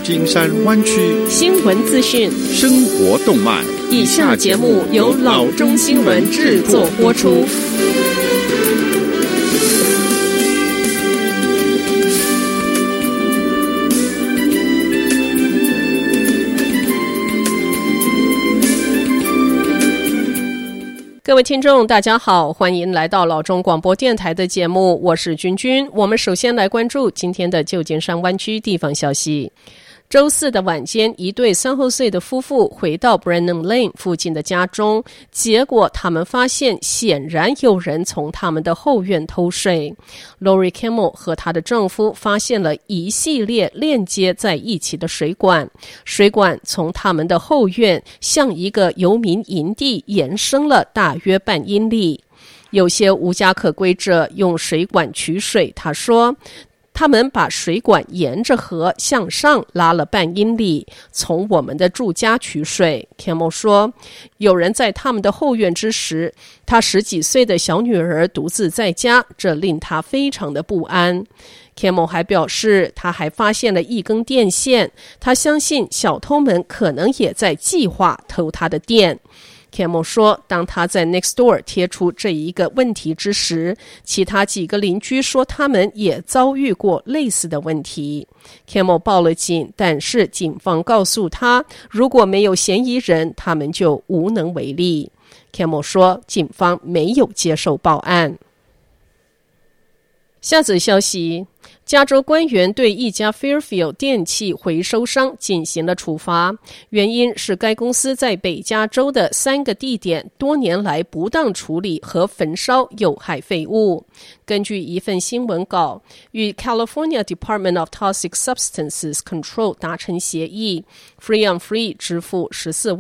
金山灣區新聞資訊、 生活動脈。 以下節目由老中新聞製作播出。各位聽眾大家好，歡迎來到老中廣播電臺的節目，我是君君。我們首先來關注今天的舊金山灣區地方消息。週四的晚間，一對30歲的夫婦回到 Brennan Lane 附近的家中，結果他們發現顯然有人從他們的後院偷水。Lori Campbell 和她的丈夫發現了一系列鏈接在一起的水管，水管從他們的後院向一個遊民營地延伸了大約半英里。有些無家可歸者用水管取水，他說他們把水管沿着河向上拉了半英里，從我們的住家取水。Campbell 說，有人在他們的後院之時，他10幾歲的小女兒獨自在家，這令他非常的不安。Campbell 還表示，他還發現了一根電線，他相信小偷們可能也在計劃偷他的電。Campbell 說，當他在 Nextdoor 貼出這一個問題之時，其他幾個鄰居說他們也遭遇過類似的問題。Campbell 報了警，但是警方告訴他，如果沒有嫌疑人，他們就無能為力。Campbell 說，警方沒有接受報案。下則消息，加州官員對一家 Fairfield 電器回收商進行了處罰，原因是該公司在北加州的3個地點多年來不當處理和焚燒有害廢物。根據一份新聞稿，與 California Department of Toxic Substances Control 達成協議， Free on Free 支付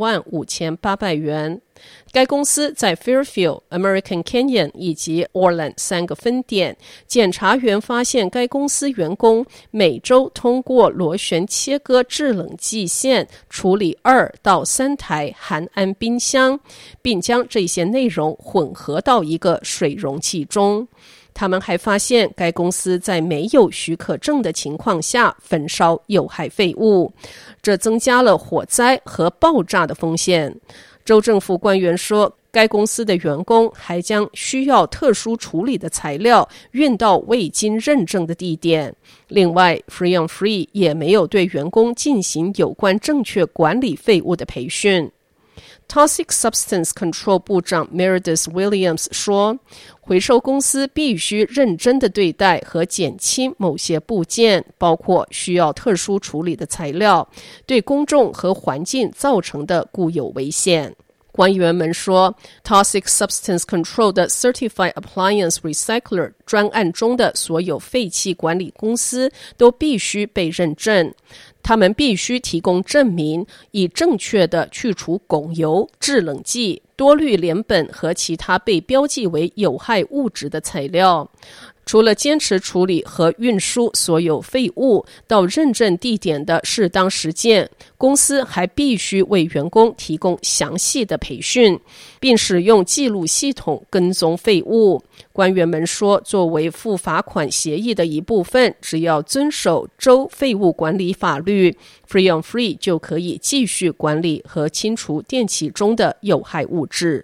145800元。該公司在 Fairfield、American Canyon 以及 Orland 3個分店，檢察員發現該公司員工每周通過螺旋切割制冷劑線處理2到3台含氨冰箱，並將這些內容混合到一個水容器中。他們還發現該公司在沒有許可證的情況下焚燒有害廢物，這增加了火災和爆炸的風險。州政府官員說，該公司的員工還將需要特殊處理的材料運到未經認證的地點。另外 Free on Free 也沒有對員工進行有關正確管理廢物的培訓。Toxic Substance Control 部長 Meredith Williams 說，回收公司必須認真地對待和減輕某些部件，包括需要特殊處理的材料，對公眾和環境造成的固有危險。官員們說， Toxic Substance Control 的 Certified Appliance Recycler 專案中的所有廢棄管理公司都必須被認證，他們必須提供證明，以正確地去除汞油、制冷劑、多氯聯苯和其他被標記為有害物質的材料。除了堅持處理和運輸所有廢物到認證地點的適當時間，公司還必須為員工提供詳細的培訓，並使用記錄系統跟蹤廢物。官員們說，作為付罰款協議的一部分，只要遵守州廢物管理法律， Free on Free 就可以繼續管理和清除電器中的有害物質。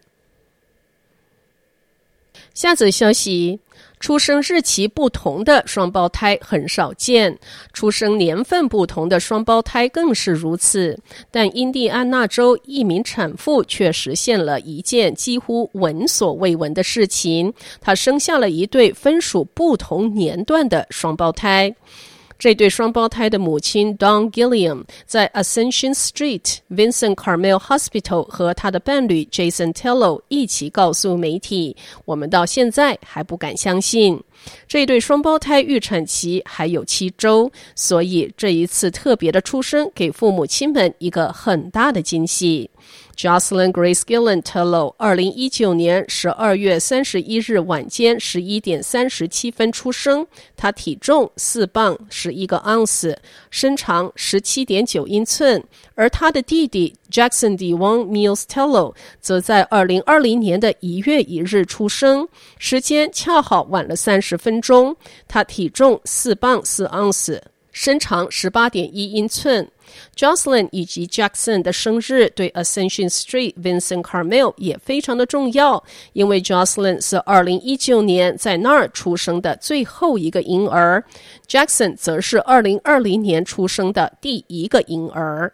下則消息，出生日期不同的雙胞胎很少見，出生年份不同的雙胞胎更是如此。但印第安納州一名產婦卻實現了一件幾乎聞所未聞的事情，她生下了一對分屬不同年段的雙胞胎。這對雙胞胎的母親 Dawn Gilliam 在 Ascension Street Vincent Carmel Hospital 和她的伴侶 Jason Tello 一起告訴媒體，我們到現在還不敢相信。這對雙胞胎預產期還有7週，所以這一次特別的出生給父母親們一個很大的驚喜。Jocelyn Grace Gillen Tello 2019年12月31日晚間11點37分出生，他體重4磅11個盎司，身長17.9英寸，而他的弟弟 Jackson Devon Mills Tello 則在2020年的1月1日出生，時間恰好晚了30分鐘，他體重4磅4盎司，身長18.1英寸。 Jocelyn 以及 Jackson 的生日对 Ascension Street Vincent Carmel 也非常的重要，因為 Jocelyn 是2019年在那兒出生的最後一個嬰兒， Jackson 則是2020年出生的第一個嬰兒。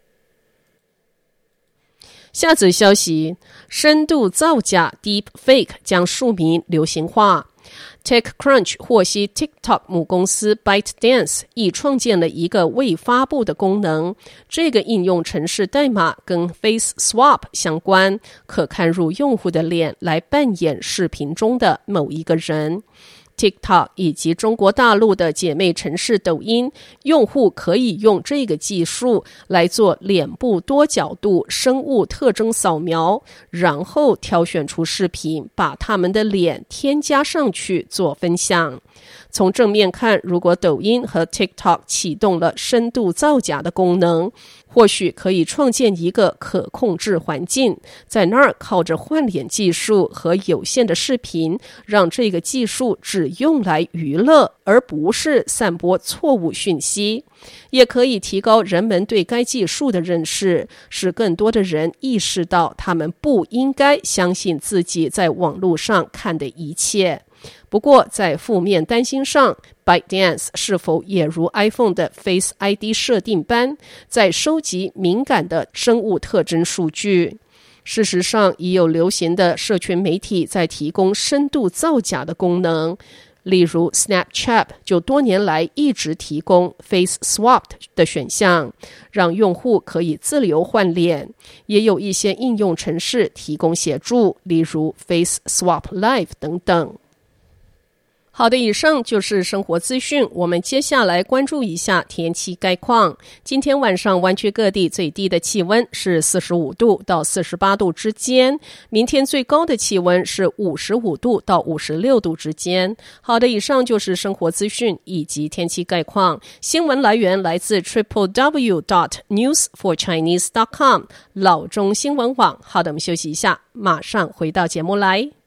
下則消息，深度造假 Deepfake 將庶民流行化。TechCrunch 獲悉 TikTok 母公司 ByteDance 已創建了一個未發布的功能，這個應用程式代碼跟 Face Swap 相關，可看入用戶的臉來扮演視頻中的某一個人。TikTok 以及中國大陸的姐妹程式抖音，用戶可以用這個技術來做臉部多角度生物特徵掃描，然後挑選出視頻，把他們的臉添加上去做分享。從正面看，如果抖音和 TikTok 啟動了深度造假的功能，或許可以創建一個可控制環境，在那兒靠着換臉技術和有限的視頻，讓這個技術只用來娛樂，而不是散播錯誤訊息。也可以提高人們對該技術的認識，使更多的人意識到他們不應該相信自己在網絡上看的一切。不過在負面擔心上， ByteDance 是否也如 iPhone 的 Face ID 設定般，在收集敏感的生物特徵數據？事實上，已有流行的社群媒體在提供深度造假的功能，例如 Snapchat 就多年來一直提供 Face Swap 的選項，讓用戶可以自由換臉。也有一些應用程式提供協助，例如 Face Swap Live 等等。好的，以上就是生活資訊。我們接下來關注一下天氣概況。今天晚上灣區各地最低的氣溫是45度到48度之間，明天最高的氣溫是55度到56度之間。好的，以上就是生活資訊以及天氣概況。新聞來源來自 www.newsforchinese.com 老中新聞網。好的，我們休息一下，馬上回到節目來。